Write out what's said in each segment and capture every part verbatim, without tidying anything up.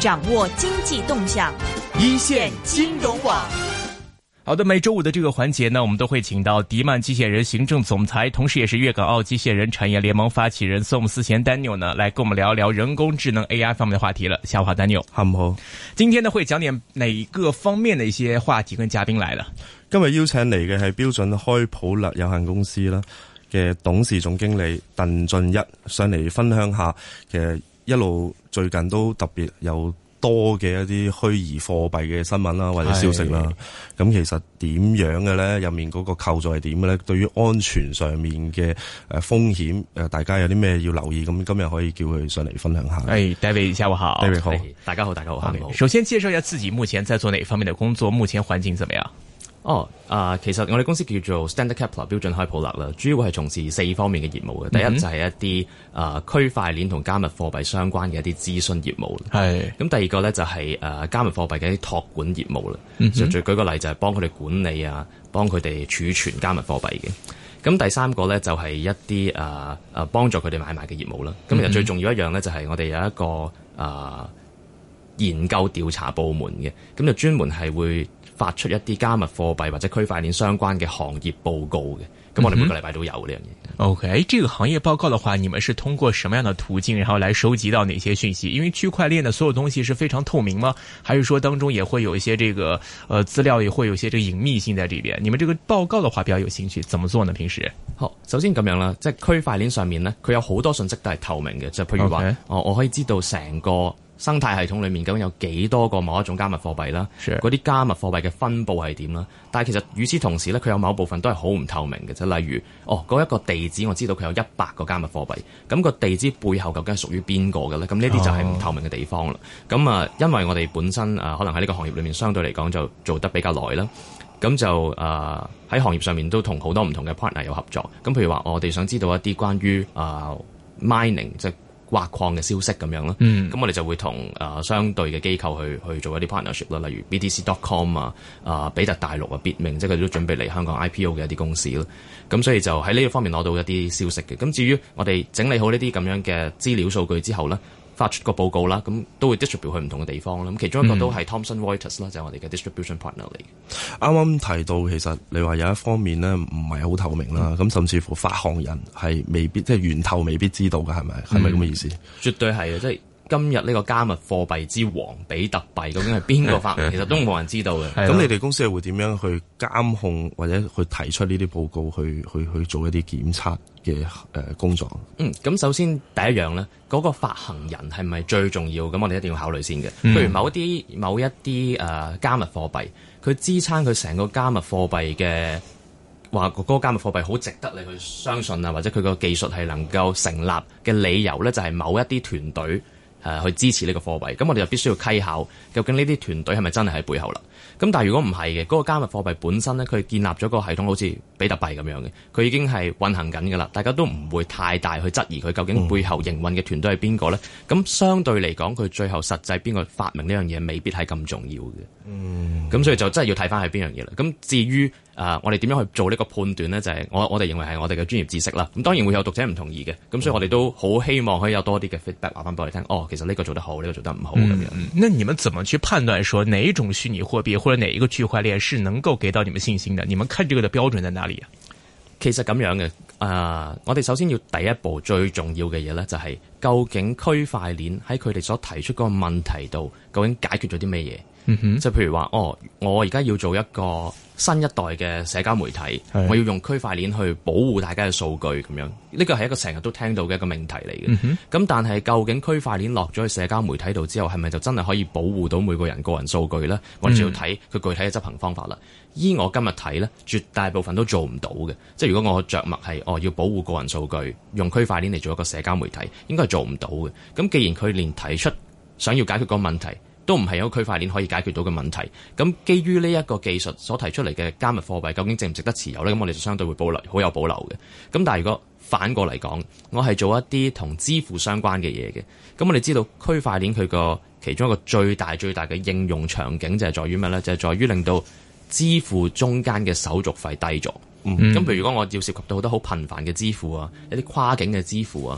掌握經濟動向， 一線金融網。好的，每周五的這個環節呢，我們都會請到迪曼機械人行政總裁，同時也是粵港澳機械人產業聯盟發起人宋思賢 Daniel 呢，來跟我們聊一聊人工智能 A I 方面的話題了。下午好 ，Daniel。 下午好。 今天呢會講點哪個方面的一些話題跟嘉賓來了？ 今日邀請嚟嘅係標準開普勒有限公司啦嘅董事總經理鄧俊一，上嚟分享下其實一路最近都特別有多嘅一啲虛擬貨幣嘅新聞啦，或者消息啦。咁其實點樣嘅咧？入面嗰個構造係點嘅咧？對於安全上面嘅誒風險誒，大家有啲咩要留意？咁今日可以叫佢上嚟分享下。 誒 David 下午好 ，David 好， 大家好，大家好，好。 首先介紹一下自己目前在做哪方面的工作，目前環境怎麼樣？ 哦，啊、呃，其實我哋公司叫做 Standard Kepler 標準開普勒啦，主要係從事四方面嘅業務嘅。第一就係一啲啊、呃、區塊鏈同加密貨幣相關嘅一啲諮詢業務。係。咁第二個咧就係、是、誒、呃、加密貨幣嘅一啲託管業務啦。嗯。就舉個例就係幫佢哋管理啊，幫佢哋儲存加密貨幣嘅。咁第三個咧就係一啲誒誒幫助佢哋買賣嘅業務啦。咁其實最重要一樣咧就係我哋有一個誒、呃、研究調查部門嘅，咁就專門係會發出一啲加密貨幣或者區塊鏈相關嘅行業報告嘅，咁我哋每個禮拜都有呢樣嘢。 OK，這個行業報告的話，你們是通過什麼樣的途徑，然後來收集到哪些訊息？因為區塊鏈的所有東西是非常透明嗎？還是說當中也會有一些這個，呃，資料也會有一些這個隱秘性在這邊？你們這個報告的話比較有興趣，怎麼做呢？平時？ 好，首先咁樣啦，即係區塊鏈上面呢，佢有好多信息都係透明嘅，就譬如話，okay. 我我可以知道成個生態系統裏面究竟有幾多個某一種加密貨幣啦，嗰啲加密貨幣嘅分佈係點啦？但係其實與此同時咧，佢有某部分都係好唔透明嘅，就例如哦嗰一個地址我知道佢有一百個加密貨幣，咁個地址背後究竟係屬於邊個嘅咧？咁呢啲就係唔透明嘅地方啦。咁、哦、啊，因為我哋本身啊，可能喺呢個行業裏面相對嚟講就做得比較耐啦，咁就啊喺、呃、行業上面都同好多唔同嘅 partner 有合作。咁譬如話，我哋想知道一啲關於啊、呃、mining 即係挖礦嘅消息咁樣啦，咁、嗯、我哋就會同誒、呃、相對嘅機構去去做一啲 partnership 啦，例如 B T C dot com 啊、啊、呃、比特大陸啊、Bitmain，即係佢哋都準備嚟香港 I P O 嘅一啲公司啦。咁所以就喺呢個方面攞到一啲消息嘅。咁至於我哋整理好呢啲咁樣嘅資料數據之後咧，發出個報告啦，咁都會 distribute 去唔同嘅地方啦。咁其中一個都係 Thomson Reuters 啦，就係我哋嘅 distribution partner 嚟嘅。 啱啱提到其實你話有一方面咧唔係好透明啦，咁、嗯、甚至乎發行人係未必即係源頭未必知道嘅，係咪？係咪咁嘅意思？ 絕對係啊！即係今日呢個加密貨幣之王比特幣究竟係邊個發明？其實都冇人知道嘅。 咁你哋公司係會點樣去監控或者去提出呢啲報告去去去做一啲檢測嘅誒工作？嗯， 咁首先第一樣咧，嗰、那個發行人係咪最重要？咁我哋一定要考慮先嘅。譬如某一啲某一啲誒、呃、加密貨幣，佢支撐佢成個加密貨幣嘅話，嗰個加密貨幣好值得你去相信啊，或者佢個技術係能夠成立嘅理由咧，就係、是、某一啲團隊。誒、呃、去支持呢個貨幣，咁我哋就必須要稽考，究竟呢啲團隊係咪真係喺背後啦？咁但係如果唔係嘅，嗰、那個加密貨幣本身咧，佢建立咗個系統，好似比特幣咁樣嘅，佢已經係運行緊㗎啦，大家都唔會太大去質疑佢究竟背後營運嘅團隊係邊個咧？咁、嗯、相對嚟講，佢最後實際邊個發明呢樣嘢，未必係咁重要嘅。嗯，咁所以就真係要睇翻係邊樣嘢啦。咁至於誒、呃，我哋點樣去做呢個判斷咧？就係、是、我我哋認為係我哋嘅專業知識啦。咁當然會有讀者唔同意嘅，咁所以我哋都好希望可以有多啲嘅 feedback 話翻俾我哋聽。哦，其實呢個做得好，呢、這個做得唔好咁樣。 嗯，那你們怎麼去判斷說哪一種虛擬貨幣或者哪一個區塊鏈是能夠給到你們信心的？你們看這個的標準在哪裡啊？ 其實咁樣嘅，誒、呃，我哋首先要第一步最重要嘅嘢咧，就係究竟區塊鏈喺佢哋所提出嗰個問題度，究竟解決咗啲咩嘢？嗯哼，即係譬如話，哦，我而家要做一個新一代嘅社交媒體，我要用區塊鏈去保護大家嘅數據咁樣，呢個係一個成日都聽到嘅一個命題嚟嘅。咁、嗯、但係究竟區塊鏈落咗去社交媒體度之後，係咪就真係可以保護到每個人個人數據咧？我哋就要睇佢具體嘅執行方法啦。依我今日睇咧，絕大部分都做唔到嘅。即係如果我着墨係哦要保護個人數據，用區塊鏈嚟做一個社交媒體，應該係做唔到嘅。咁既然佢連提出想要解決個問題都唔係一個區塊鏈可以解決到嘅問題，咁基於呢一個技術所提出嚟嘅加密貨幣究竟值唔值得持有呢？咁我哋就相對會保留，好有保留嘅。咁但係如果反過嚟講，我係做一啲同支付相關嘅嘢嘅，咁我哋知道區塊鏈佢個其中一個最大最大嘅應用場景就係在於咩呢？就係在於令到支付中間嘅手續費低咗。嗯，咁譬如如果我要涉及到好多好頻繁嘅支付啊，一啲跨境嘅支付啊，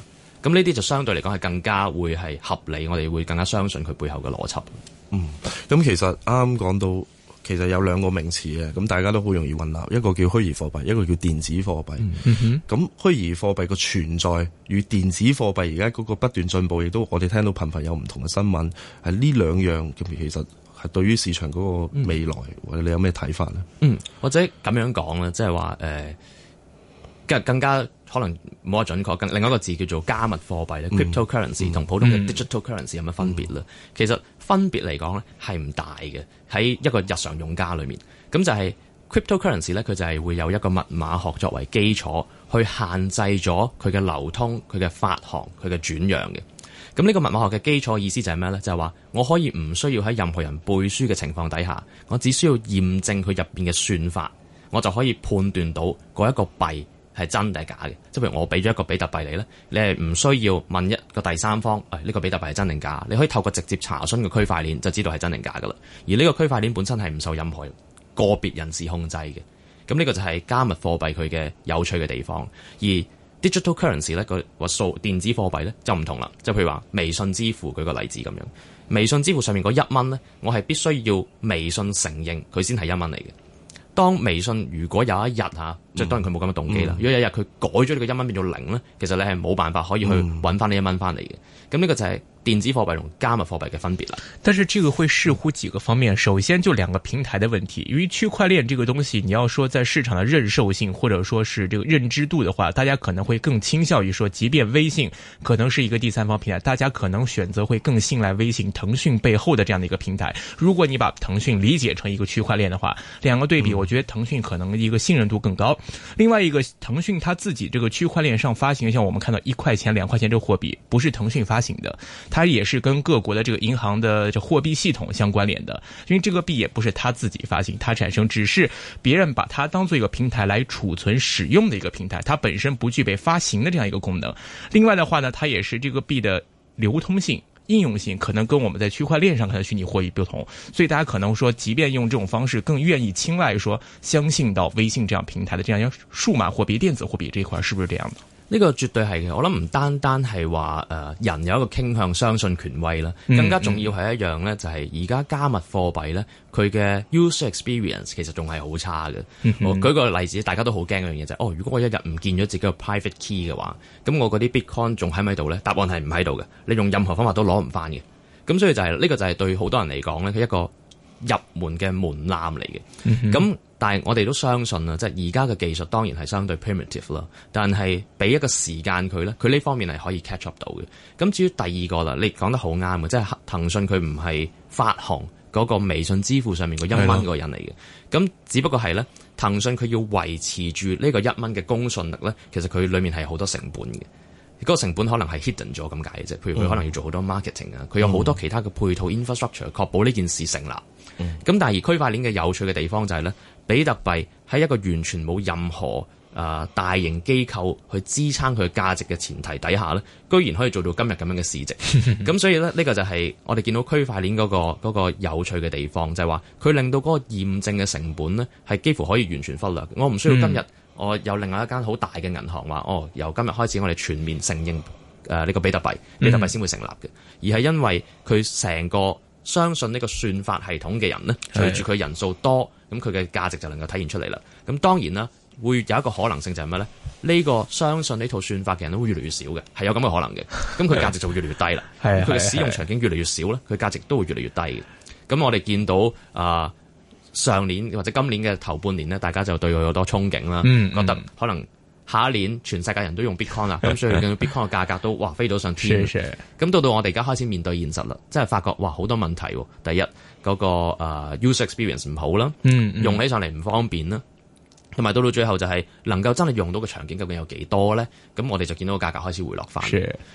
咁呢啲就相對嚟講係更加會係合理，我哋會更加相信佢背後嘅邏輯。 嗯，咁其實啱啱講到，其實有兩個名詞嘅，咁大家都好容易混淆，一個叫虛擬貨幣，一個叫電子貨幣。 嗯哼， 咁虛擬貨幣個存在與電子貨幣而家嗰個不斷進步，亦都我哋聽到頻繁有唔同嘅新聞，係呢兩樣咁其實係對於市場嗰個未來，嗯、或者你有咩睇法咧？ 嗯，或者咁樣講咧，即係話誒，更更加可能冇得準確，更另一個字叫做加密貨幣咧 （cryptocurrency） 同、嗯、普通嘅 digital currency 有乜分別咧？嗯、其實分別嚟講咧係唔大嘅，喺一個日常用家裏面，咁就係 cryptocurrency 咧，佢就係會有一個密碼學作為基礎，去限制咗佢嘅流通、佢嘅發行、佢嘅轉讓嘅。咁呢個密碼學嘅基礎意思就係咩咧？就係話我可以唔需要喺任何人背書嘅情況底下，我只需要驗證佢入邊嘅算法，我就可以判斷到嗰一個幣係真定係假嘅。即係譬如我俾咗一個比特幣你咧，你係唔需要問一個第三方，誒、哎、呢、這個比特幣係真定假？你可以透過直接查詢個區塊鏈就知道係真定假噶啦。而呢個區塊鏈本身係唔受任何個別人士控制嘅。咁呢個就係加密貨幣佢嘅有趣嘅地方。而digital currency 咧，個個數電子貨幣咧就唔同啦，就譬如話微信支付，舉個例子咁樣，微信支付上面嗰一蚊咧，我係必須要微信承認佢先係一蚊嚟嘅。當微信如果有一日嚇，即係當然佢冇咁嘅動機啦。嗯、如果有一日佢改咗呢個一蚊變做零咧，其實你係冇辦法可以去揾翻呢一蚊翻嚟嘅。咁呢、嗯、個就係電子貨幣同加密貨幣嘅分別啦。 但是這個會視乎幾個方面，首先就兩個平台的問題。因為區塊鏈這個東西，你要說在市場的認受性或者說是這個認知度的話，大家可能會更傾向於說，即便微信可能是一個第三方平台，大家可能選擇會更信賴微信騰訊背後的這樣的一個平台。如果你把騰訊理解成一個區塊鏈的話，兩個對比，我覺得騰訊可能一個信任度更高。另外一個，騰訊它自己這個區塊鏈上發行，像我們看到一塊錢、兩塊錢這個貨幣，不是騰訊發行的，它也是跟各國的這個銀行的這貨幣系統相關聯的。因為這個幣也不是它自己發行，它產生只是別人把它當做一個平台來儲存使用的一個平台，它本身不具備發行的這樣一個功能。另外的話呢，它也是這個幣的流通性、應用性可能跟我們在區塊鏈上看的虛擬貨幣不同，所以大家可能說，即便用這種方式，更願意青睞說相信到微信這樣平台的這樣一個數碼貨幣、電子貨幣這一塊，是不是這樣的？ 呢個絕對係嘅，我諗唔單單係話誒人有一個傾向相信權威啦，更加重要係一樣咧，就係而家加密貨幣咧，佢嘅 user experience 其實仲係好差嘅。嗯、哼我舉個例子，大家都好驚一樣嘢就係、是，哦，如果我一日唔見咗自己個 private key 嘅話，咁我嗰啲 bitcoin 仲喺唔喺度咧？答案係唔喺度嘅，你用任何方法都攞唔翻嘅。咁所以就係、是、呢、這個就係對好多人嚟講咧，佢一個入門嘅門檻嚟嘅。咁、嗯、哼但係我哋都相信啊，即係而家嘅技術當然係相對 primitive 啦，但係俾一個時間佢咧，佢呢方面係可以 catch up 到嘅。咁至於第二個啦，你講得好啱嘅，即係騰訊佢唔係發行嗰個微信支付上面個一蚊嗰個人嚟嘅。咁的只不過係咧，騰訊佢要維持住呢個一蚊嘅公信力咧，其實佢裡面係好多成本嘅。嗰個成本可能係 hidden 咗咁解嘅啫，譬如佢可能要做好多 marketing 啊，佢有好多其他嘅配套 infrastructure 確保呢件事成立。咁、嗯、但係而區塊鏈嘅有趣嘅地方就係、是、咧，比特幣喺一個完全冇任何誒、呃、大型機構去支撐佢價值嘅前提底下咧，居然可以做到今日咁樣嘅市值。咁所以咧，呢、這個就係我哋見到區塊鏈嗰個嗰、那個有趣嘅地方，就係話佢令到嗰個驗證嘅成本咧係幾乎可以完全忽略。我唔需要今日、嗯。我有另外一間好大嘅銀行話，哦，由今日開始我哋全面承認誒呢、呃這個比特幣，比特幣先會成立嘅，嗯、而係因為佢成個相信呢個算法系統嘅人呢，隨住佢人數多，咁佢嘅價值就能夠體現出嚟啦。咁當然啦，會有一個可能性就係咩咧？呢、這個相信呢套算法嘅人都會越嚟越少嘅，係有咁嘅可能嘅。咁佢價值就會越嚟越低啦。佢嘅使用場景越嚟越少咧，佢價值都會越嚟越低嘅。咁我哋見到啊。呃上年或者今年嘅頭半年呢，大家就對佢有多憧憬啦，嗯嗯、覺得可能下一年全世界人都用 Bitcoin 啦，咁所以見到 Bitcoin 嘅價格都哇飛到上天。咁到到我哋而家開始面對現實啦，即係發覺哇好多問題。第一嗰、那個、uh, user experience 唔好啦，嗯嗯、用起上嚟唔方便啦，同埋到到最後就係能夠真係用到嘅場景究竟有幾多咧？咁我哋就見到個價格開始回落翻。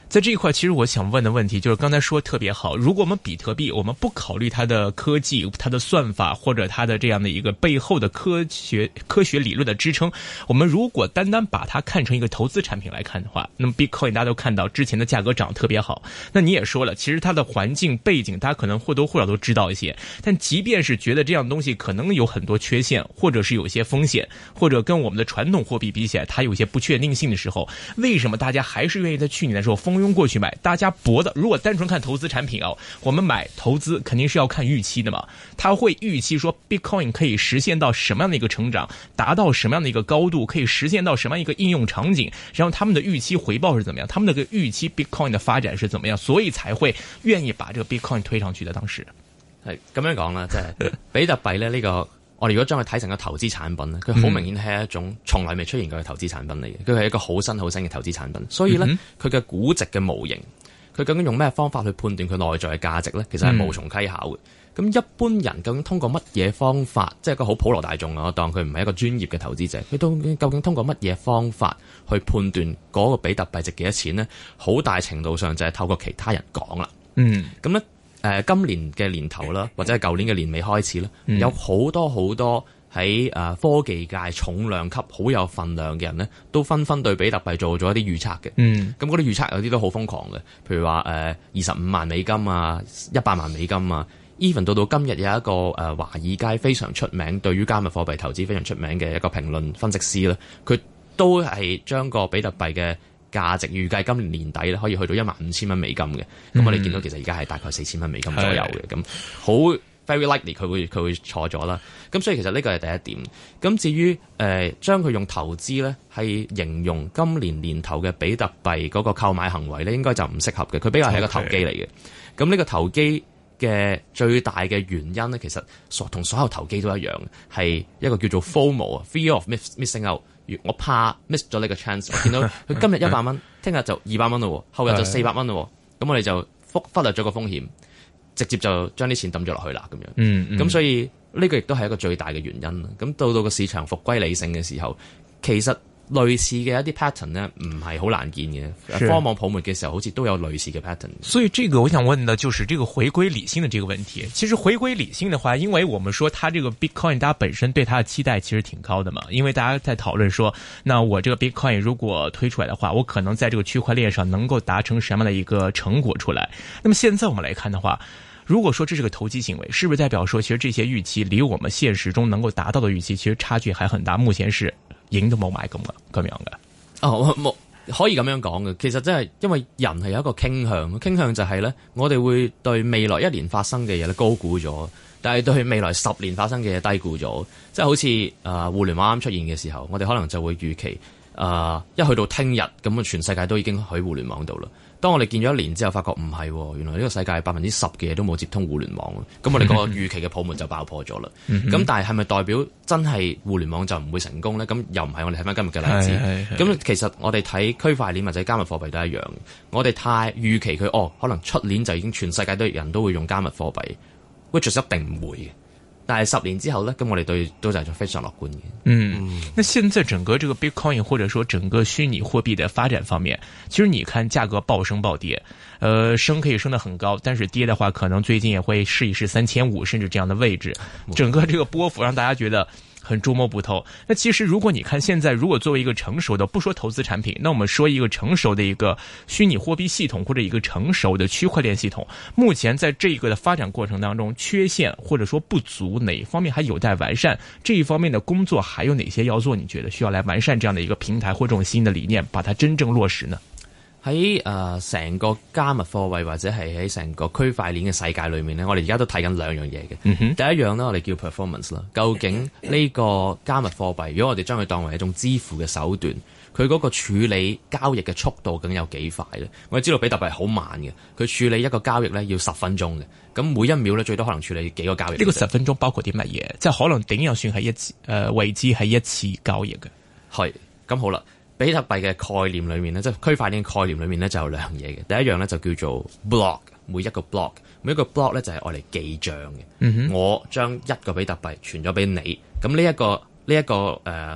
在這一塊，其實我想問的問題就是，剛才說特別好。如果我們比特幣，我們不考慮它的科技、它的算法或者它的這樣的一個背後的科學、科學理論的支撐，我們如果單單把它看成一個投資產品來看的話，那麼 Bitcoin 大家都看到之前的價格漲得特別好。那你也說了，其實它的環境背景，大家可能或多或少都知道一些。但即便是覺得這樣東西可能有很多缺陷，或者是有些風險，或者跟我們的傳統貨幣比起來，它有些不確定性的時候，為什麼大家還是願意在去年的時候蜂擁過去買？大家博的，如果單純看投資產品哦，我們買投資肯定是要看預期的嘛。他會預期說 Bitcoin 可以實現到什麼樣的一個成長，達到什麼樣的一個高度，可以實現到什麼樣一個應用場景，然後他們的預期回報是怎麼樣，他們的個預期 Bitcoin 的發展是怎麼樣，所以才會願意把這個 Bitcoin 推上去的。當時係咁樣講啦，即係比特幣咧呢個。我哋如果將佢睇成個投資產品咧，佢好明顯係一種從來未出現過嘅投資產品嚟嘅，佢係一個好新好新嘅投資產品。所以咧，佢嘅估值嘅模型，佢究竟用咩方法去判斷佢內在嘅價值咧？其實係無從稽考嘅。咁、嗯、一般人究竟通過乜嘢方法，即係一個好普羅大眾啊，我當佢唔係一個專業嘅投資者，佢都究竟通過乜嘢方法去判斷嗰個比特幣值幾多錢咧？好大程度上就係透過其他人講啦。嗯，咁咧。誒、呃、今年嘅年頭啦，或者係舊年嘅年尾開始啦，嗯、有好多好多喺誒、呃、科技界重量級好有份量嘅人咧，都紛紛對比特幣做咗一啲預測嘅。嗯，咁嗰啲預測有啲都好瘋狂嘅，譬如話誒二十五萬美金啊，一百萬美金啊 ，even 到到今日有一個誒、呃、華爾街非常出名，對於加密貨幣投資非常出名嘅一個評論分析師咧，佢都係將個比特幣嘅價值預計今年年底咧可以去到一萬五千蚊美金嘅，咁、嗯、我哋見到其實而家係大概四千蚊美金左右嘅，咁好 very likely 佢會佢會錯咗啦。咁所以其實呢個係第一點。咁至於誒將佢用投資咧係形容今年年頭嘅比特幣嗰個購買行為咧，應該就唔適合嘅。佢比較係一個投機嚟嘅。咁呢 Okay. 個投機嘅最大嘅原因咧，其實所同所有投機都一樣，係一個叫做 FOMO 啊 ，Fear of Missing Out。我怕 miss 咗呢個 chance， 我見到佢今日一百蚊，聽日就二百蚊咯，後日就四百蚊咯，咁我哋就忽忽略咗個風險，直接就將啲錢抌咗落去啦，咁樣。嗯，咁、嗯、所以呢個亦都係一個最大嘅原因啦。咁到到個市場復歸理性嘅時候，其實類似嘅一啲 pattern 呢，唔係好難見嘅。是科網泡沫嘅時候，好似都有類似嘅 pattern。所以這個我想問的就是這個回歸理性的這個問題。其實回歸理性的話，因為我們說它這個 Bitcoin， 大家本身對它的期待其實挺高的嘛。因為大家在討論說，那我這個 Bitcoin 如果推出來的話，我可能在這個區塊鏈上能夠達成什麼樣的一個成果出來。那麼現在我們來看的話，如果說這是個投機行為，是不是代表說其實這些預期離我們現實中能夠達到的預期其實差距還很大？目前是影都冇買咁嘅咁樣嘅。哦，冇可以咁樣講嘅。其實真係因為人係有一個傾向，傾向就係咧，我哋會對未來一年發生嘅嘢咧高估咗，但係對未來十年發生嘅嘢低估咗。即係好似誒、呃、互聯網啱出現嘅時候，我哋可能就會預期誒、呃、一去到聽日咁啊，全世界都已經喺互聯網度啦。當我哋見咗一年之後，發覺唔係，原來呢個世界百分之十嘅嘢都冇接通互聯網，咁我哋個預期嘅泡沫就爆破咗啦。咁但係係咪代表真係互聯網就唔會成功咧？咁又唔係。我哋睇翻今日嘅例子，咁其實我哋睇區塊鏈或者加密貨幣都一樣。我哋太預期佢哦，可能出年就已經全世界都人都會用加密貨幣 which is 一定唔會嘅。但係十年之後呢，咁我哋對都就係非常樂觀嘅。嗯，那現在整個這個 Bitcoin 或者說整個虛擬貨幣的發展方面，其實你看價格暴升暴跌，呃，升可以升得很高，但是跌的話，可能最近也會試一試三千五甚至這樣的位置，整個這個波幅讓大家覺得很捉摸不透。那其實如果你看現在，如果作為一個成熟的，不說投資產品，那我們說一個成熟的一個虛擬貨幣系統或者一個成熟的區塊鏈系統，目前在這個的發展過程當中，缺陷或者說不足，哪一方面還有待完善？這一方面的工作還有哪些要做？你覺得需要來完善這樣的一個平台或這種新的理念，把它真正落實呢？喺誒成個加密貨幣或者係喺成個區塊鏈嘅世界裏面呢，我哋而家都睇緊兩樣嘢嘅。嗯、哼第一樣呢，我哋叫 performance 啦。究竟呢個加密貨幣，如果我哋將佢當為一種支付嘅手段，佢嗰個處理交易嘅速度究竟有幾快呢？我哋知道比特幣好慢嘅，佢處理一個交易呢要十分鐘嘅，咁每一秒呢最多可能處理幾個交易。呢個十分鐘包括啲乜嘢？即係可能點樣算係一次誒為之係一次交易嘅？係咁好啦。比特幣嘅概念裏面咧，即係區塊鏈概念裏面咧，就有兩樣嘢嘅。第一樣咧就叫做 block， 每一個 block， 每一個 block 咧就係愛嚟記帳嘅。嗯、哼我將一個比特幣傳咗俾你，咁呢一個呢一、這個誒、呃、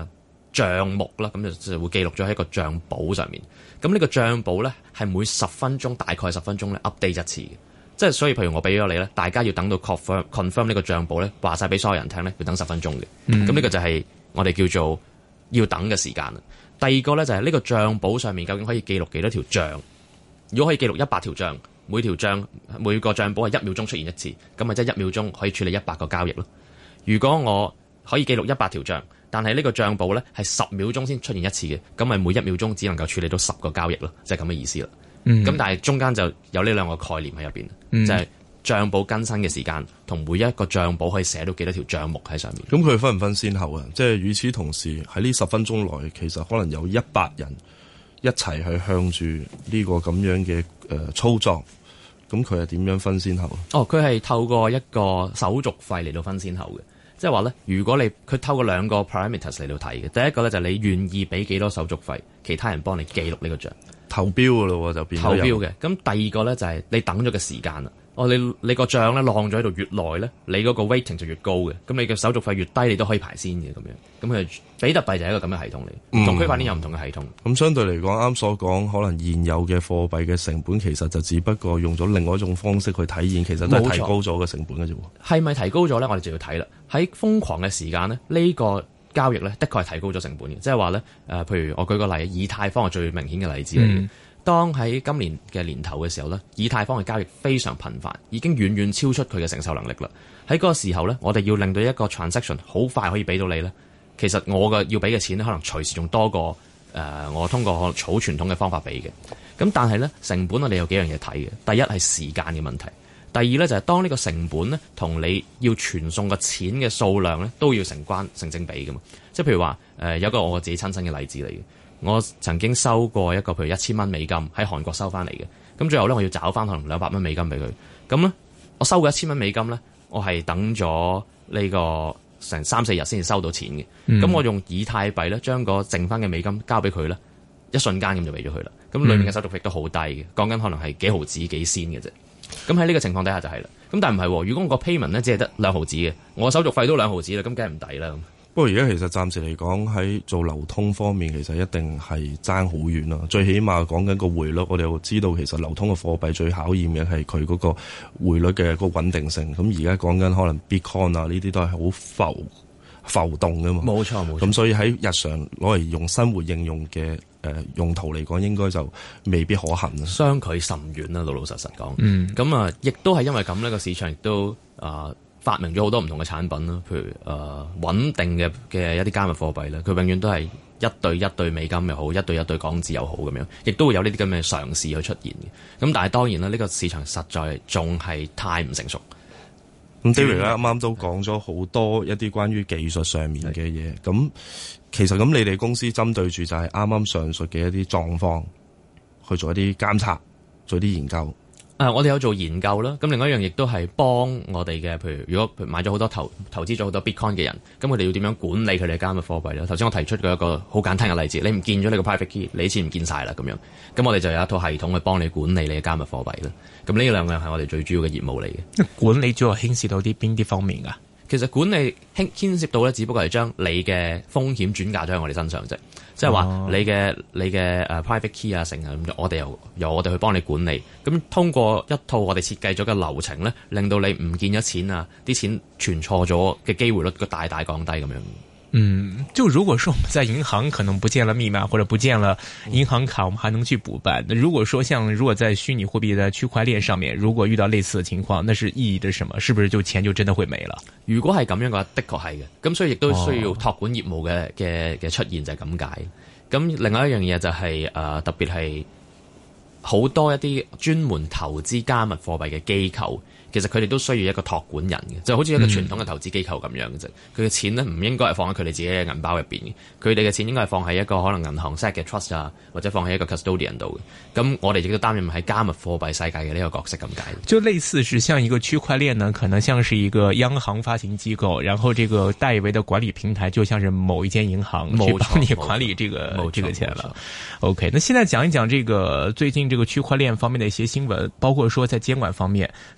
帳目啦，咁就就會記錄咗喺一個帳簿上面。咁呢個帳簿咧係每十分鐘大概十分鐘咧 update 一次嘅，即係所以譬如我俾咗你咧，大家要等到 confirm confirm 呢個帳簿咧話晒俾所有人聽咧，要等十分鐘嘅。咁呢、嗯、個就係我哋叫做要等嘅時間啦。第二個咧就係呢個帳簿上面究竟可以記錄幾多條帳？如果可以記錄一百條帳，每條帳每個帳簿係一秒鐘出現一次，咁咪即係一秒鐘可以處理一百個交易咯。如果我可以記錄一百條帳，但係呢個帳簿咧係十秒鐘先出現一次嘅，咁咪每一秒鐘只能夠處理到十個交易咯，即係咁嘅意思啦。咁、嗯、但係中間就有呢兩個概念喺入邊，嗯、就係帳簿更新嘅時間同每一個帳簿可以寫到幾多條帳目喺上面。 咁佢分唔分先後啊？即係與此同時喺呢十分鐘內，其實可能有一百人一齊去向住呢個咁樣嘅誒、呃、操作，咁佢係點樣分先後？ 哦，佢係透過一個手續費嚟到分先後嘅。即係話咧，如果你佢透過兩個 parameters 嚟到睇嘅，第一個咧就係你願意俾幾多手續費，其他人幫你記錄呢個帳投標㗎咯，就變咗投標嘅。咁第二個咧就係你等咗嘅時間啦。哦，你你個帳咧晾咗喺度越耐咧，你嗰個 waiting 就越高嘅。咁你嘅手續費越低，你都可以排先嘅咁樣。咁佢比特幣就係一個咁嘅系統嚟，同區塊鏈有唔同嘅系統。咁、 嗯、相對嚟講，啱所講，可能現有嘅貨幣嘅成本其實就只不過用咗另外一種方式去體現，其實都係提高咗嘅成本嘅啫。 係咪提高咗咧？我哋就要睇啦。喺瘋狂嘅時間咧，呢、呢個交易咧，的確係提高咗成本嘅。即係話咧，誒、呃，譬如我舉個例，以太坊係最明顯嘅例子嚟嘅。嗯當喺今年嘅年頭嘅時候咧，以太坊嘅交易非常頻繁，已經遠遠超出佢嘅承受能力啦。喺嗰個時候咧，我哋要令到一個 transaction 好快可以俾到你咧，其實我嘅要俾嘅錢咧，可能隨時仲多過誒、呃、我通過好傳統嘅方法俾嘅。咁但係咧，成本我哋有幾樣嘢睇嘅。第一係時間嘅問題，第二咧就係當呢個成本咧同你要傳送嘅錢嘅數量咧都要成關成正比㗎嘛。即係譬如話誒、呃、有一個我自己親身嘅例子嚟嘅。我曾經收過一個譬如一千蚊美金喺韓國收翻嚟嘅，咁最後咧我要找翻可能兩百蚊美金俾佢，咁咧我收過一千蚊美金咧，我係等咗呢個成三四日先至收到錢嘅，咁、嗯、我用以太幣咧將個剩翻嘅美金交俾佢咧，一瞬間咁就俾咗佢啦，咁裏面嘅手續費都好低嘅，講緊可能係幾毫子幾仙嘅啫，咁喺呢個情況底下就係啦，咁但係唔係，如果我個 payment 咧只係得兩毫子嘅，我手續費都兩毫子啦，咁梗係唔抵啦。 不過而家其實暫時嚟講喺做流通方面，其實一定係爭好遠啦。最起碼講緊個匯率，我哋又知道其實流通嘅貨幣最考驗嘅係佢嗰個匯率嘅個穩定性。咁而家講緊可能 Bitcoin 啊呢啲都係好浮浮動噶嘛。冇錯冇錯。咁所以喺日常攞嚟用生活應用嘅誒、呃、用途嚟講，應該就未必可行啦。 相距甚遠啦，老老實實講。 嗯。 咁啊，亦都係因為咁呢個市場亦都啊。呃發明咗好多唔同嘅產品啦，譬如誒、呃、穩定嘅嘅一啲加密貨幣咧，佢永遠都係一對一對美金又好，一對一對港紙又好咁樣，亦都會有呢啲咁嘅嘗試去出現嘅。咁但係當然啦，呢、這個市場實在仲係太唔成熟。 咁 David 咧啱啱都講咗好多一啲關於技術上面嘅嘢。咁其實咁你哋公司針對住就係啱啱上述嘅一啲狀況去做一啲監察，做一啲研究。 誒、呃，我哋有做研究啦。咁另外一樣亦都係幫我哋嘅，譬如如果譬如買咗好多投投資咗好多 Bitcoin 嘅人，咁佢哋要點樣管理佢哋嘅加密貨幣咧？頭先我提出過一個好簡單嘅例子，你唔見咗你個 private key，你啲錢唔見晒啦咁樣。咁我哋就有一套系統去幫你管理你嘅加密貨幣啦。咁呢兩樣係我哋最主要嘅業務嚟嘅。 管理主要牽涉到啲邊啲方面㗎？ 其實管理牽牽涉到咧，只不過係將你嘅風險轉嫁咗喺我哋身上啫。即係話你嘅你嘅誒 private key 啊，成啊咁，我哋由由我哋去幫你管理。咁通過一套我哋設計咗嘅流程咧，令到你唔見咗錢啊，啲錢存錯咗嘅機會率個大大降低咁樣。 嗯，就如果說我們在銀行可能不見了密碼或者不見了銀行卡，我們還能去補辦。那如果說像如果在虛擬貨幣在區塊鏈上面，如果遇到類似的情況，那是意義着什麼？是不是就錢就真的會沒了？如果係咁樣嘅話，的確係嘅。咁所以亦都需要託管業務嘅嘅嘅出現就係咁解。咁另外一樣嘢就係、是、誒、呃、特別係好多一啲專門投資加密貨幣嘅機構。其實佢哋都需要一個託管人嘅，就好似一個傳統嘅投資機構咁樣嘅啫。佢嘅、嗯、錢咧唔應該係放喺佢哋自己嘅銀包入邊嘅，佢哋嘅錢應該係放喺一個可能銀行 set 嘅 trust 啊，或者放喺一個 custodian 度嘅。咁我哋亦都擔任喺加密貨幣世界嘅呢個角色咁解。就類似是像一個區塊鏈呢，可能像是一個央行發行機構，然後這個代為的管理平台就像是某一間銀行去幫你管理這個這個錢了。OK，那現在講一講這個最近這個區塊鏈方面的一些新聞，包括說在監管方面，是不是有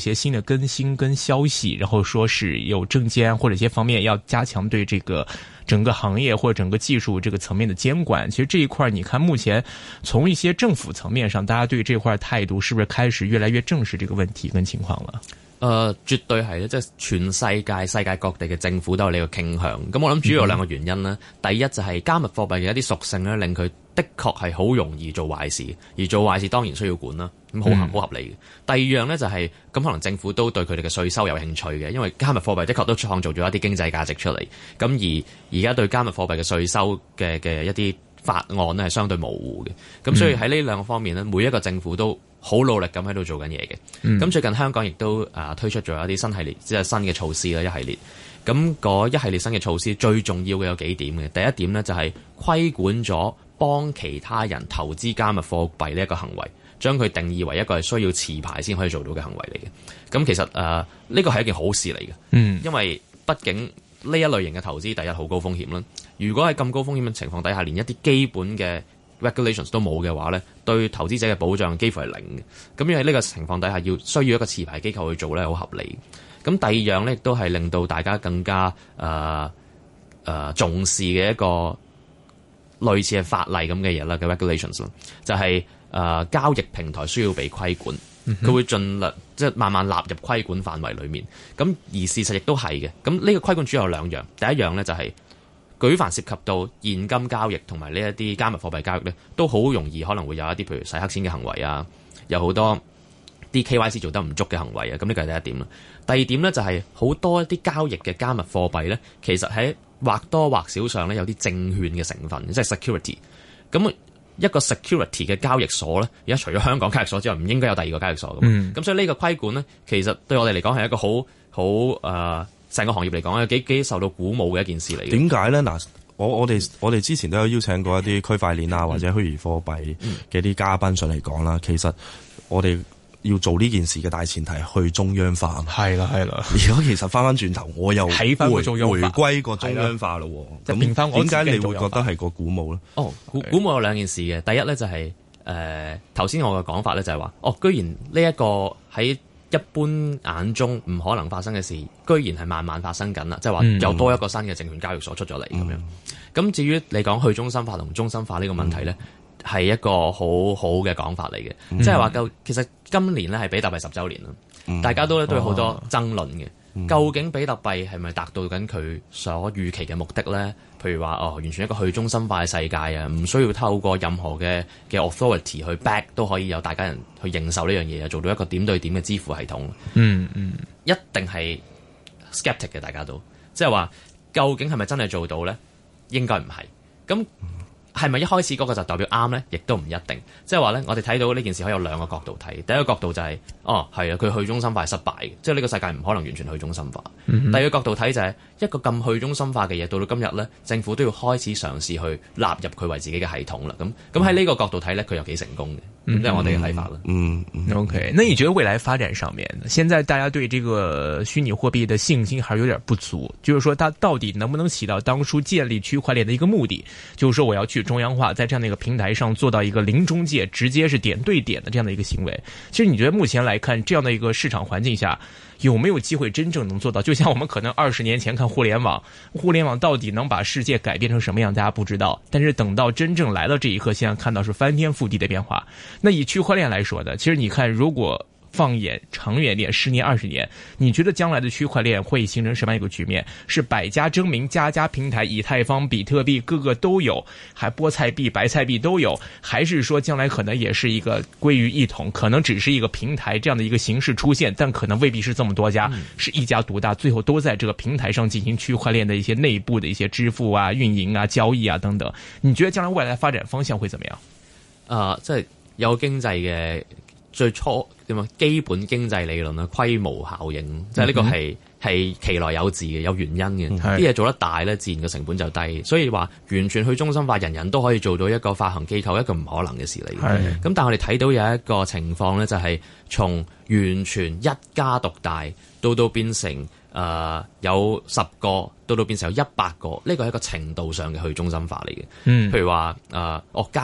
些新的更新跟消息，然後說是有證監或者一些方面要加強對這個整個行業或者整個技術這個層面的監管。其實這一塊你看目前從一些政府層面上，大家對這塊態度是不是開始越來越正視這個問題跟情況了？ 誒、呃，絕對係咧，即係全世界世界各地嘅政府都有呢個傾向。咁我諗主要有兩個原因啦。嗯、第一就係加密貨幣嘅一啲屬性咧，令佢的確係好容易做壞事，而做壞事當然需要管啦，咁好合好合理嘅。第二樣咧就係、是、咁，可能政府都對佢哋嘅稅收有興趣嘅，因為加密貨幣的確都創造咗一啲經濟價值出嚟。咁而而家對加密貨幣嘅稅收嘅嘅一啲法案咧係相對模糊嘅。咁所以喺呢兩個方面咧，每一個政府都好努力咁喺度做緊嘢嘅。咁、嗯、最近香港亦都啊推出咗一啲新系列，即係新嘅措施啦，一系列。咁嗰一系列新嘅措施最重要嘅有幾點嘅。第一點呢，就係規管咗幫其他人投資加密貨幣呢一個行為，將佢定義為一個係需要持牌先可以做到嘅行為嚟嘅。咁其實誒呢個係一件好事嚟嘅。嗯，因為畢竟呢一類型嘅投資第一好高風險啦。如果喺咁高風險嘅情況底下，連一啲基本嘅regulations 都冇嘅話咧，對投資者嘅保障幾乎係零嘅。咁因為呢個情況底下要需要一個持牌機構去做咧，好合理。咁第二樣咧，亦都係令到大家更加誒誒、呃呃、重視嘅一個類似係法例咁嘅嘢啦嘅 regulations 就係、是、誒、呃、交易平台需要被規管，佢、嗯、哼會盡量即係慢慢納入規管範圍裡面。咁而事實亦都係嘅。咁呢個規管主要有兩樣，第一樣咧就係、是。舉凡涉及到現金交易同埋呢一啲加密貨幣交易咧，都好容易可能會有一啲譬如洗黑錢嘅行為啊，有好多啲 K Y C 做得唔足嘅行為啊，咁呢個係第一點啦。第二點咧就係、是、好多一啲交易嘅加密貨幣咧，其實喺或多或少上咧有啲證券嘅成分，即係 security。咁一個 security 嘅交易所咧，而家除咗香港交易所之外，唔應該有第二個交易所㗎嘛。咁、嗯、所以呢個規管咧，其實對我哋嚟講係一個好好誒。成個行業嚟講，有幾幾受到鼓舞嘅一件事嚟嘅。點解咧？嗱，我我哋我哋之前都有邀請過一啲區塊鏈啊，或者虛擬貨幣嘅啲嘉賓上嚟講啦。嗯、其實我哋要做呢件事嘅大前提係去中央化。係啦，係啦。如果其實翻翻轉頭，我又回回歸個中央化咯。咁點解你會覺得係個鼓舞咧？哦，鼓鼓舞有兩件事嘅。第一咧就係誒頭先我嘅講法咧就係話，哦，居然呢一個喺一般眼中唔可能發生嘅事，居然係慢慢發生緊啦！即係話有多一個新嘅證券交易所出咗嚟咁樣。咁、嗯、至於你講去中心化同中心化呢個問題咧，係、嗯、一個好好嘅講法嚟嘅。即係話夠，其實今年咧係比特幣十週年啦，嗯、大家都咧都有好多爭論嘅。嗯、究竟比特幣係咪達到緊佢所預期嘅目的咧？譬如話哦，完全一個去中心化嘅世界啊，唔需要透過任何嘅嘅 authority 去 back 都可以有大家人去認受呢樣嘢啊，做到一個點對點嘅支付系統。嗯嗯，一定係 skeptic 嘅，大家都即係話究竟係咪真係做到咧？應該唔係。咁係咪一開始嗰個就代表啱咧？亦都唔一定。即係話咧，我哋睇到呢件事可以有兩個角度睇。第一個角度就係、是、哦，係啊，佢去中心化係失敗嘅，即係呢個世界唔可能完全去中心化。嗯、哼第二個角度睇就係、是、一個咁去中心化嘅嘢，到到今日咧，政府都要開始嘗試去納入佢為自己嘅系統啦。咁咁喺呢個角度睇咧，佢有幾成功嘅。咁即係我哋嘅睇法啦。嗯，嗯 OK，那你覺得未來發展上面，現在大家對這個虛擬貨幣的信心還是有點不足，就是說它到底能不能起到當初建立區塊鏈的一個目的，就是說我要去中央化，在這樣的一個平台上做到一個零中介，直接是點對點的這樣的一個行為。其實你覺得目前來看，這樣的一個市場環境下，有沒有機會真正能做到？就像我們可能二十年前看互聯網，互聯網到底能把世界改變成什麼樣，大家不知道。但是等到真正來了這一刻，現在看到是翻天覆地的變化。那以區塊鏈來說的，其實你看，如果放眼長遠點，十年、二十年，你覺得將來的區塊鏈會形成什麼樣一個局面？是百家爭鳴，家家平台，以太坊、比特幣，個個都有，還菠菜幣、白菜幣都有，還是說將來可能也是一個歸於一統，可能只是一個平台這樣的一個形式出現，但可能未必是這麼多家，嗯、是一家獨大，最後都在這個平台上進行區塊鏈的一些內部的一些支付啊、運營啊、交易啊等等。你覺得將來未來發展方向會怎麼樣？啊、呃，即係有經濟嘅最初點啊，基本經濟理論啊，規模效應，即係呢個係係其來有自嘅，有原因嘅。啲嘢、嗯、做得大咧，自然個成本就低。所以話完全去中心化，人人都可以做到一個發行機構，一個唔可能嘅事嚟嘅。咁是但係我哋睇到有一個情況咧，就係從完全一家獨大到到變成誒、呃、有十個，到到變成有一百個，呢個係一個程度上嘅去中心化嚟嘅。嗯、譬如話誒，我、呃、加密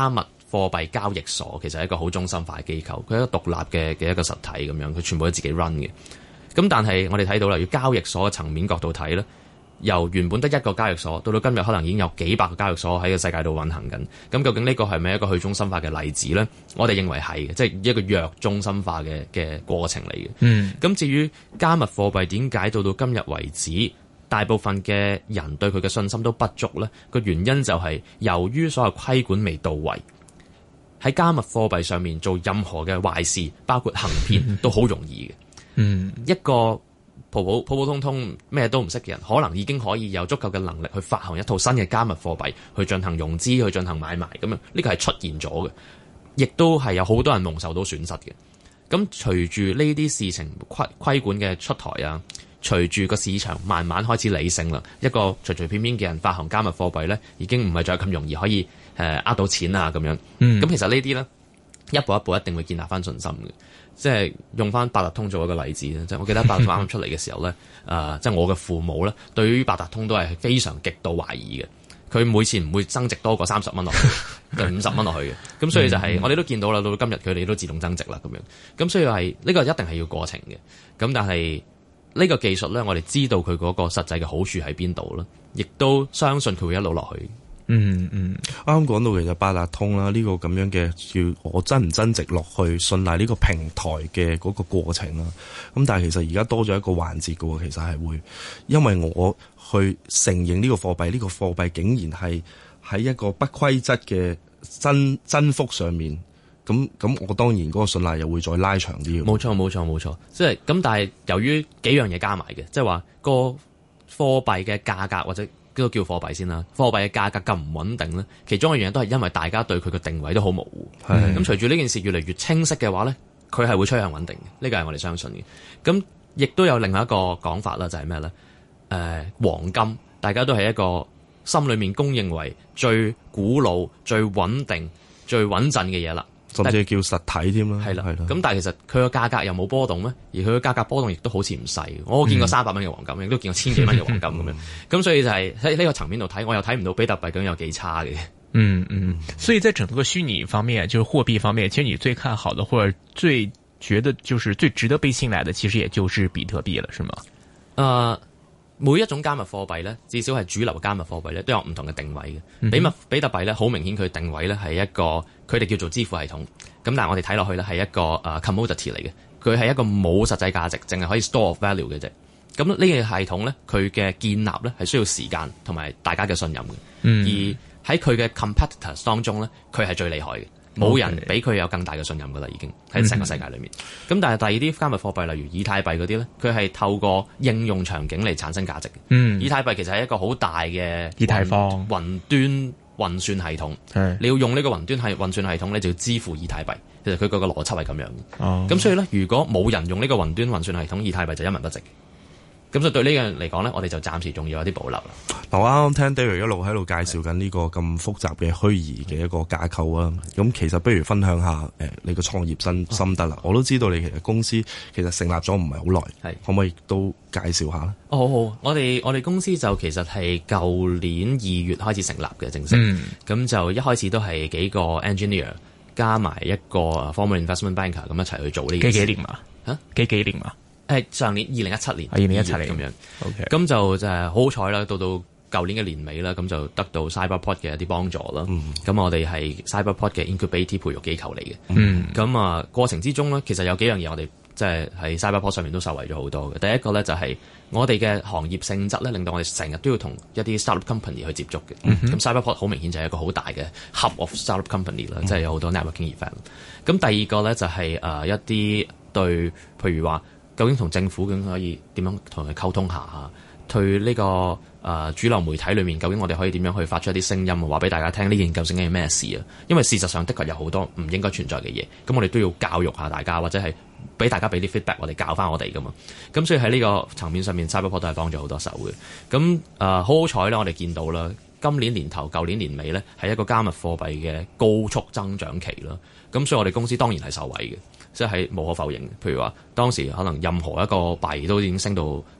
貨幣交易所其實係一個好中心化嘅機構，佢係一個獨立嘅嘅一個實體咁樣，佢全部都自己 run 嘅。咁但係我哋睇到啦，要交易所嘅層面角度睇咧，由原本得一個交易所，到到今日可能已經有幾百個交易所喺個世界度運行緊。咁究竟呢個係咪一個去中心化嘅例子咧？我哋認為係嘅，即係一個弱中心化嘅嘅過程嚟嘅。嗯。咁至於加密貨幣點解到到今日為止，大部分嘅人對佢嘅信心都不足咧？個原因就係由於所有規管未到位，喺加密貨幣上面做任何嘅壞事，包括行騙，都好容易嘅。嗯，一個普普普普通通咩都唔識嘅人，可能已經可以有足夠嘅能力去發行一套新嘅加密貨幣，去進行融資，去進行買賣咁樣。呢個係出現咗嘅，亦都係有好多人蒙受到損失嘅。咁隨住呢啲事情規規管嘅出台啊，隨住個市場慢慢開始理性啦，一個隨隨便便嘅人發行加密貨幣咧，已經唔係再咁容易可以誒呃到錢啊咁樣。咁、嗯、其實呢啲咧一步一步一定會建立翻信心嘅。即係用翻八達通做一個例子咧，即係我記得八達通啱啱出嚟嘅時候咧，誒、呃，即係我嘅父母咧，對於八達通都係非常極度懷疑嘅。佢每次唔會增值多過三十蚊落去，定五十蚊落去嘅。咁所以就係、是、我哋都見到啦，到今日佢哋都自動增值啦咁樣。咁所以係呢、這個一定係要過程嘅。咁但係呢個技術咧，我哋知道佢嗰個實際嘅好處喺邊度啦，亦都相信佢會一路落去。 嗯嗯，啱啱講到其實八達通啦，呢、這個咁樣嘅叫我增唔增值落去信賴呢個平台嘅嗰個過程啦。咁但係其實而家多咗一個環節嘅喎，其實係會因為我去承認呢個貨幣，呢、這個貨幣竟然係喺一個不規則嘅增增幅上面，咁咁我當然嗰個信賴又會再拉長啲。 冇錯冇錯冇錯，即係咁。但係由於幾樣嘢加埋嘅，即係話個貨幣嘅價格或者都叫貨幣先啦，貨幣嘅價格咁唔穩定咧，其中一樣嘢都係因為大家對佢嘅定位都好模糊。咁隨住呢件事越嚟越清晰嘅話咧，佢係會趨向穩定嘅，呢個係我哋相信嘅。咁亦都有另外一個講法啦，就係咩咧？誒、呃，黃金大家都係一個心裏面公認為最古老、最穩定、最穩陣嘅嘢啦。 甚至叫實體添啦， 係啦，咁但係其實佢個價格又冇波動咩？而佢個價格波動亦都好似唔細。我見過三百蚊嘅黃金，亦都見過千幾蚊嘅黃金咁樣。咁所以就係喺呢個層面度睇，我又睇唔到比特幣究竟有幾差嘅。 嗯嗯，所以在整個虛擬方面，就是貨幣方面，其實你最看好的或者最覺得就是最值得被信賴的，其實也就是比特幣了，是嗎？ 呃每一種加密貨幣咧，至少係主流加密貨幣咧，都有唔同嘅定位嘅。嗯、比密比特幣咧，好明顯佢定位咧係一個，佢哋叫做支付系統。咁但係我哋睇落去咧係一個誒、uh, commodity 嚟嘅，佢係一個冇實際價值，淨係可以 store of value 嘅啫。咁呢個系統咧，佢嘅建立咧係需要時間同埋大家嘅信任嘅。嗯、而喺佢嘅 competitors 當中咧，佢係最厲害嘅。冇人比佢有更大嘅信任噶啦，已經喺成個世界裏面。咁、嗯、但係第二啲加密貨幣，例如以太幣嗰啲咧，佢係透過應用場景嚟產生價值嘅。嗯，以太幣其實係一個好大嘅以太坊雲端運算系統。係，你要用呢個雲端係運算系統咧，就要支付以太幣。其實佢個個邏輯係咁樣嘅。哦，咁所以咧，如果冇人用呢個雲端運算系統，以太幣就一文不值。咁所以對呢樣嚟講咧，我哋就暫時仲要有啲保留啦。 嗱，我啱啱聽 David 一路喺度介紹緊呢個咁複雜嘅虛擬嘅一個架構啊。咁其實不如分享下誒、呃、你個創業心心得啦。哦、我都知道你其實公司其實成立咗唔係好耐，係可唔可以都介紹下咧？哦，好好，我哋我哋公司就其實係舊年二月開始成立嘅正式。咁、嗯、就一開始都係幾個 engineer 加埋一個 former investment banker 咁一齊去做呢件事。幾幾年嘛？嚇？幾幾年嘛？誒上年二零一七年，二零一七年咁樣，咁 Okay. 就就係好彩啦。到到舊年嘅年尾啦，咁就得到 Cyberport 嘅一啲幫助啦。咁、嗯、我哋係 Cyberport 嘅 incubator 培育機構嚟嘅。咁啊、嗯、過程之中咧，其實有幾樣嘢我哋即係喺 Cyberport 上面都受惠咗好多嘅。第一個咧就係我哋嘅行業性質咧，令到我哋成日都要同一啲 startup company 去接觸嘅。咁、嗯、哼 Cyberport 好明顯就係一個好大嘅 hub of startup company 啦、嗯，即係有好多 networking event。咁第二個咧就係、是、誒、呃、一啲對，譬如話，究竟同政府究竟可以點樣同佢溝通下啊？對呢、這個誒、呃、主流媒體裏面，究竟我哋可以點樣去發出一啲聲音，話俾大家聽呢件究竟係咩事啊？因為事實上的確有好多唔應該存在嘅嘢，咁我哋都要教育下大家，或者係俾大家俾啲 feedback，我哋教翻我哋噶嘛。咁所以喺呢個層面上面 Cyberport 都係幫咗好多手嘅。咁誒、呃、好好彩咧，我哋見到啦，今年年頭、舊年年尾咧，係一個加密貨幣嘅高速增長期啦。咁所以我哋公司當然係受惠嘅。即係無可否認，譬如話當時可能任何一個幣都已經升到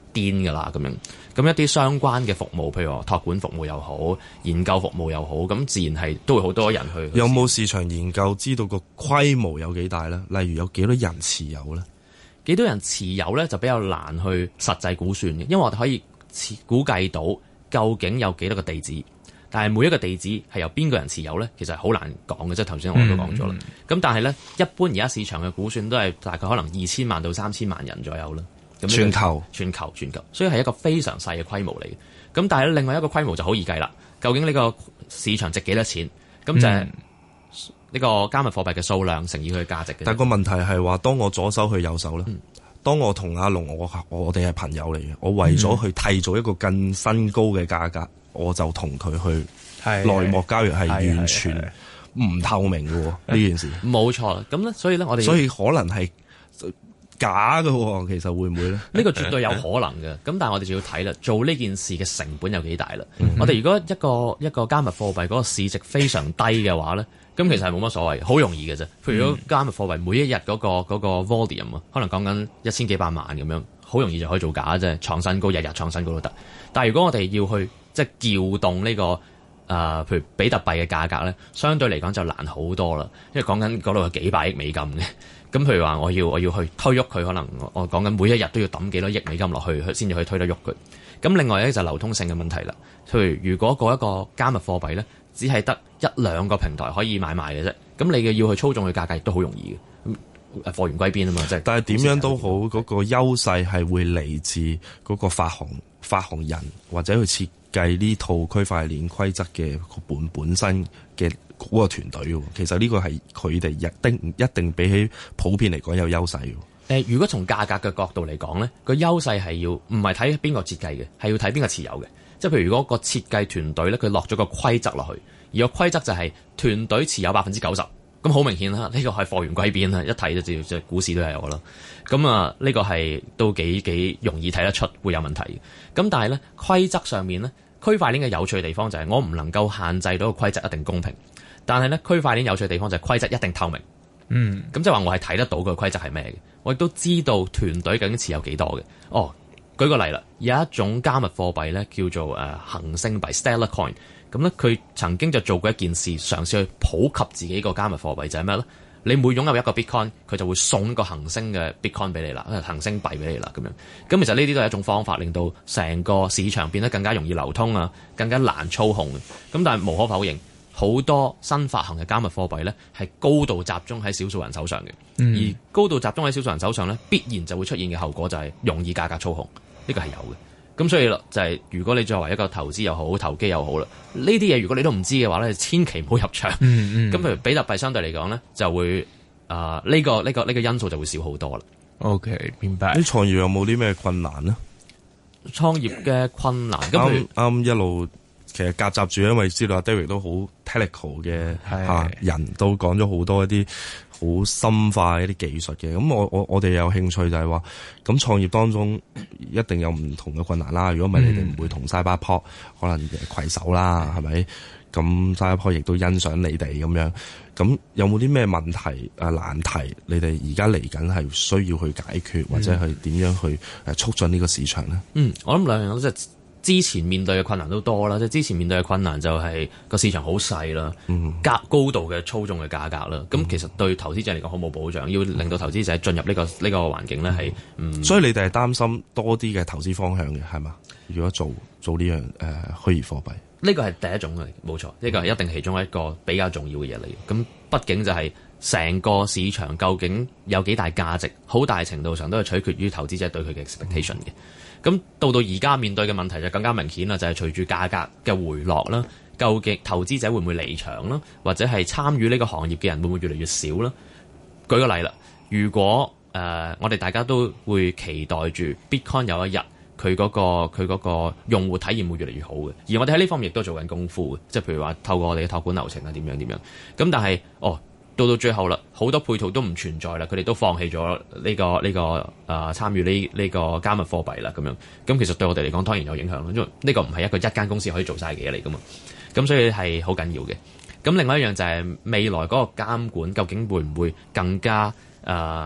癲㗎啦咁樣。咁一啲相關嘅服務，譬如話託管服務又好，研究服務又好，咁自然係都會好多人去。 有冇市場研究知道個規模有幾大咧？例如有幾多人持有咧？ 幾多人持有咧就比較難去實際估算嘅，因為我哋可以估計到究竟有幾多個地址，但係每一個地址係由邊個人持有咧，其實係好難講嘅。即係頭先我都講咗啦。咁、嗯、但係咧，一般而家市場嘅估算都係大概可能二千萬到三千萬人左右啦。咁全球，全球，全球，所以係一個非常細嘅規模嚟嘅。咁但係另外一個規模就好易計啦。究竟呢個市場值幾多錢？咁就係呢個加密貨幣嘅數量乘以佢嘅價值嘅。 但個問題係話，當我左手去右手咧，嗯、當我同阿龍我我哋係朋友嚟嘅，我為咗去締造一個更新高嘅價格，嗯、我就同佢去內幕交易，係完全唔透明嘅喎呢件事。 冇錯，咁咧，所以咧，我哋所以可能係假嘅喎，其實會唔會咧？ 呢個絕對有可能嘅，咁但係我哋就要睇啦，做呢件事嘅成本有幾大啦。嗯、我哋如果一個一個加密貨幣嗰個市值非常低嘅話咧，咁其實係冇乜所謂，好容易嘅啫。譬如如果加密貨幣每一日嗰、嗰個嗰、嗰個 volume 啊，可能講緊一千幾百萬咁樣，好容易就可以做假啫，創新高，日日創新高都得。但係如果我哋要去即係調動呢、呢個誒、呃，譬如比特幣嘅價格咧，相對嚟講就難好多啦，因為講緊嗰度有幾百億美金嘅。咁譬如話，我要我要去推喐佢，可能我講緊每一日都要抌幾多億美金落去，先至可以推得喐佢。咁另外咧就係流通性嘅問題啦。譬如如果嗰一個加密貨幣咧，只係得一兩個平台可以買賣嘅啫，咁你嘅要去操縱佢價格亦都好容易嘅。咁貨源歸邊啊嘛，即係。但係點樣都好，嗰、嗰個優勢係會嚟自嗰個發行發行人或者去設計呢套區塊鏈規則嘅本本身嘅嗰個團隊。其實呢個係佢哋一定一定比起普遍嚟講有優勢。 誒，如果從價格嘅角度嚟講咧，個優勢係要唔係睇邊個設計嘅，係要睇邊個持有嘅。即係譬如如果個設計團隊咧，佢落咗個規則落去，而個規則就係團隊持有百分之九十，咁好明顯啦，呢個係貨源歸邊啦，一睇就知，即係股市都係有啦。咁啊，呢個係都幾幾容易睇得出會有問題嘅。咁但係咧，規則上面咧，區塊鏈嘅有趣嘅地方就係我唔能夠限制到個規則一定公平，但係咧，區塊鏈有趣嘅地方就係規則一定透明。嗯，咁即係話我係睇得到個規則係咩嘅，我亦都知道團隊究竟持有幾多嘅。哦，舉個例啦，有一種加密貨幣咧叫做誒恆星幣 Stellar Coin， 咁咧佢曾經就做過一件事，嘗試去普及自己個加密貨幣就係咩咧？你每擁有一個 Bitcoin， 佢就會送一個恆星嘅 Bitcoin 俾你啦，恆星幣俾你啦咁樣。咁其實呢啲都係一種方法，令到成個市場變得更加容易流通啊，更加難操控。咁但係無可否認，好多新發行嘅加密貨幣咧，係高度集中喺少數人手上嘅。嗯、而高度集中喺少數人手上咧，必然就會出現嘅後果就係容易價格操控，呢個係有嘅。咁所以啦，就係、是、如果你作為一個投資又好、投機又好啦，呢啲嘢如果你都唔知嘅話咧，千祈唔好入場。咁、嗯嗯、譬如比特幣相對嚟講咧，就會啊呢、呃這個呢、這個呢、這個因素就會少好多啦。 OK，明白。 啲創業有冇啲咩困難呢？ 創業嘅困難，咁啱啱一路。其實夾雜住，因為知道阿 David 都好 technical 嘅嚇人，都講咗好多一啲好深化一啲技術嘅。咁我我我哋有興趣就係話，咁創業當中一定有唔同嘅困難啦。如果唔係，你哋唔會同 Cyberport 可能攜手啦，係咪？咁 Cyberport 亦都欣賞你哋咁樣。咁有冇啲咩問題啊難題？你哋而家嚟緊係需要去解決，或者係點樣去誒促進呢個市場咧？ 嗯，我諗兩樣都即係。之前面對嘅困難都多啦，即係之前面對嘅困難就係個市場好細啦，價高度嘅操縱嘅價格啦，咁、嗯、其實對投資者嚟講好冇保障，要令到投資者進入呢、呢個呢、呢個環境咧係，嗯， 所以你哋係擔心多啲嘅投資方向嘅係嘛？如果做做呢樣誒虛擬貨幣， 呢個係第一種嘅，冇錯，呢、呢個係一定其中一個比較重要嘅嘢嚟嘅。咁畢竟就係成個市場究竟有幾大價值，好大程度上都係取決於投資者對佢嘅 expectation 嘅。咁到到而家面對嘅問題就更加明顯啦，就係隨住價格嘅回落啦，究竟投資者會唔會離場啦，或者係參與呢個行業嘅人會唔會越嚟越少啦？舉個例啦，如果誒、呃、我哋大家都會期待住 Bitcoin 有一日佢嗰個佢嗰個用戶體驗會越嚟越好嘅，而我哋喺呢方面亦都做緊功夫嘅，即係譬如話透過我哋嘅託管流程啊點樣點樣，咁但係哦。到到最後啦，好多配套都唔存在啦，佢哋都放棄咗呢、呢個呢、呢個誒、呃、參與呢呢個加密貨幣啦，咁樣咁其實對我哋嚟講當然有影響咯，因為呢個唔係一個一間公司可以做晒嘅嘢嚟噶嘛，咁所以係好緊要嘅。咁另外一樣就係未來嗰個監管究竟會唔會更加誒、呃、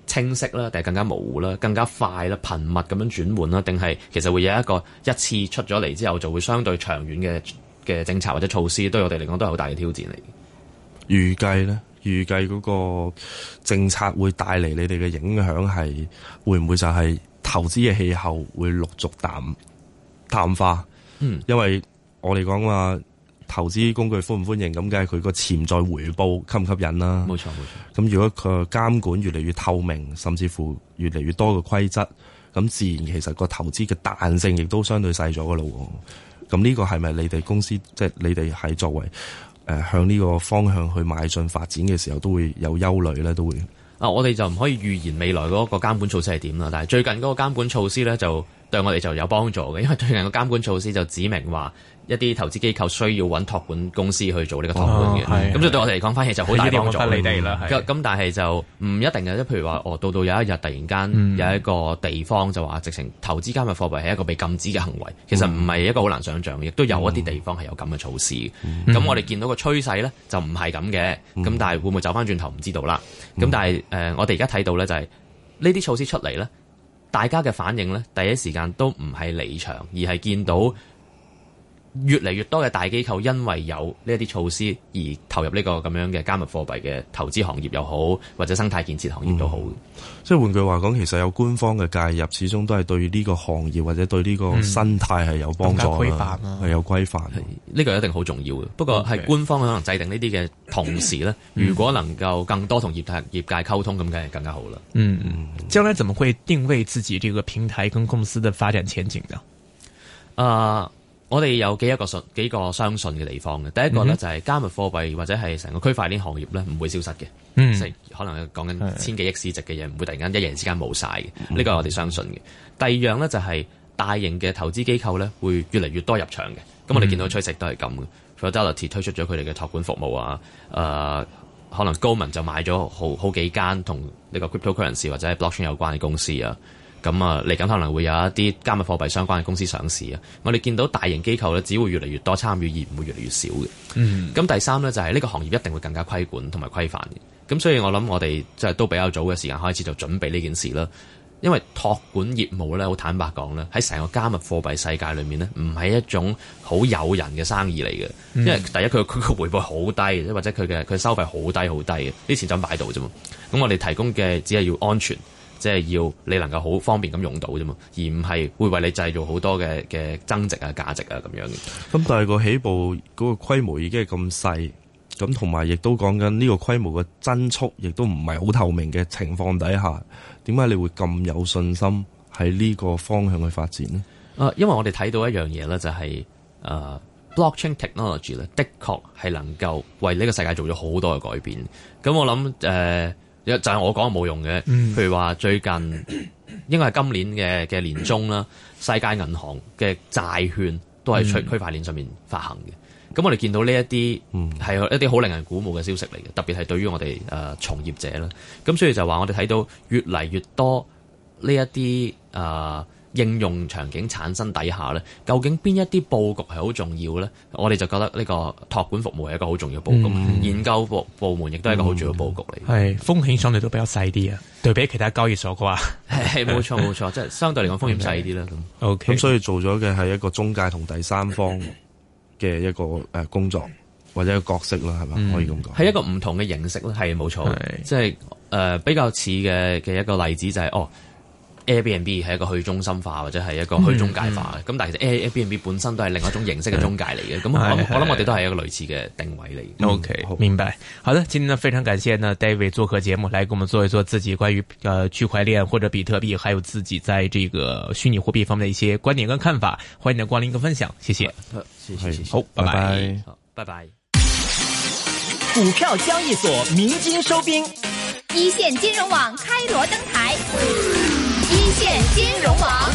清晰啦，定係更加模糊啦，更加快啦，頻密咁樣轉換啦，定係其實會有一個一次出咗嚟之後就會相對長遠嘅嘅政策或者措施，對我哋嚟講都係好大嘅挑戰嚟。 預計咧，預計嗰個政策會帶嚟你哋嘅影響係會唔會就係投資嘅氣候會陸續淡淡化？嗯，因為我哋講話投資工具歡唔歡迎咁，梗係佢個潛在回報吸唔吸引啦。冇錯冇錯。咁如果佢監管越嚟越透明，甚至乎越嚟越多嘅規則，咁自然其實個投資嘅彈性亦都相對細咗噶咯。咁呢個係咪你哋公司即係你哋係作為誒、呃、向呢個方向去邁進發展嘅時候都會有憂慮咧？都會啊，我哋就唔可以預言未來嗰個監管措施係點啦。但係最近嗰個監管措施咧，就對我哋就有幫助嘅，因為最近個監管措施就指明話一啲投資機構需要揾託管公司去做呢個託管嘅，咁、哦、所以對我哋嚟講翻嘢就好大幫助你哋啦。咁但係就唔一定嘅，即譬如話，哦，到到有一日突然間有一個地方就話直情投資加密貨幣係一個被禁止嘅行為，其實唔係一個好難想像嘅，亦都有一啲地方係有咁嘅措施。咁、嗯、我哋見到個趨勢咧就唔係咁嘅，咁、嗯、但係會唔會走翻轉頭唔知道啦。咁、嗯、但係誒、呃，我哋而家睇到咧就係呢啲措施出嚟咧，大家嘅反應咧第一時間都唔係離場，而係見到越嚟越多嘅大機構因為有呢一啲措施而投入呢個咁樣嘅加密貨幣嘅投資行業又好，或者生態建設行業都好。嗯、 即係換句話講，其實有官方嘅介入，始終都係對呢個行業或者對呢個生態係有幫助啦，係、嗯、有規範。呢、 呢個一定好重要嘅。不過係官方可能制定呢啲嘅同時咧、嗯，如果能夠更多同業界業界溝通，咁梗係更加好啦。 嗯嗯，將來怎麼會定位自己這個平台跟公司的發展前景呢？ 啊、呃。我哋有幾一個信幾個相信嘅地方嘅，第一個咧就係加密貨幣或者係成個區塊鏈行業咧唔會消失嘅，嗯，即係可能講緊千幾億市值嘅嘢唔會突然間一夜之間冇晒嘅，呢、這個係我哋相信嘅。第二樣咧就係大型嘅投資機構咧會越嚟越多入場嘅，咁我哋見到趨勢都係咁嘅。Fidelity 推出咗佢哋嘅託管服務啊，誒、呃、可能高文就買咗好好幾間同呢個 cryptocurrency 或者係 blockchain 有關嘅公司啊。咁啊，嚟緊可能會有一啲加密貨幣相關嘅公司上市啊！我哋見到大型機構咧，只會越嚟越多參與，而唔會越嚟越少嘅。嗯。咁第三咧就係、是、呢個行業一定會更加規管同埋規範嘅。咁所以我諗我哋即係都比較早嘅時間開始就準備呢件事啦。因為託管業務咧，好坦白講咧，喺成個加密貨幣世界裏面咧，唔係一種好誘人嘅生意嚟嘅、嗯。因為第一佢佢個回報好低，或者佢嘅佢收費好低好低嘅，啲錢就咁擺度啫嘛。咁我哋提供嘅只係要安全。即係要你能夠好方便咁用到啫嘛，而唔係會為你製造好多嘅嘅增值啊、價值啊咁樣嘅。 咁但係個起步嗰個規模已經係咁細，咁同埋亦都講緊呢個規模嘅增速，亦都唔係好透明嘅情況底下，點解你會咁有信心喺呢個方向去發展呢？ 啊、呃，因為我哋睇到一樣嘢咧，就係、是、誒、呃、blockchain technology 咧，的確係能夠為呢個世界做咗好多嘅改變。咁我諗誒。呃就係、是、我講冇用嘅，譬如話最近應該係今年嘅嘅年中啦，世界銀行嘅債券都係區區塊鏈上面發行嘅。咁、嗯、我哋見到呢一啲係一啲好令人鼓舞嘅消息嚟嘅，特別係對於我哋誒、呃、從業者啦。咁所以就話我哋睇到越嚟越多呢一啲誒。呃應用場景產生底下咧，究竟邊一啲佈局係好重要咧？我哋就覺得呢個託管服務係一個好重要嘅佈局，嗯、研究部部門亦都係一個好重要嘅佈局嚟。係、嗯、 風險相對都比較細啲啊，對比其他交易所嘅話， 係冇錯冇錯，即係相對嚟講風險細啲啦。咁 OK，咁所以做咗嘅係一個中介同第三方嘅一個誒工作或者一個角色啦，係嘛、嗯？可以咁講， 係一個唔同嘅形式咧，係冇錯，即係誒比較似嘅嘅一個例子就係、是、哦。Airbnb 係一個去中心化或者係一個去中介化嘅，咁、嗯嗯、但係其實 Airbnb 本身都係另一種形式嘅中介嚟嘅，咁、嗯、我諗我諗我哋都係一個類似嘅定位嚟。 OK，明白。好的，今天呢非常感謝呢 David 做客節目，來給我們做一做自己關於呃區塊鏈或者比特幣，還有自己在這個虛擬貨幣方面的一些觀點跟看法，歡迎你的光臨跟分享，謝謝。 謝謝謝謝。 好，拜拜。 好，拜拜。 股票交易所鳴金收兵，一線金融網開鑼登台。一線金融網，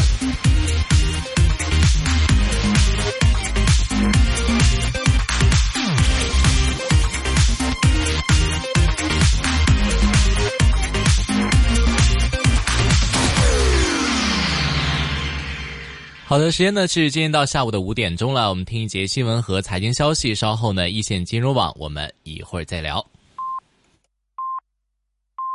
好的，時間呢是今天到下午的五點鐘了，我們聽一節新聞和財經消息，稍後呢一線金融網我們一會兒再聊。